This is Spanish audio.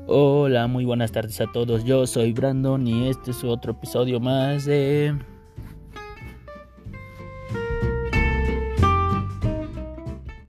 Hola, muy buenas tardes a todos. Yo soy Brandon y este es otro episodio más de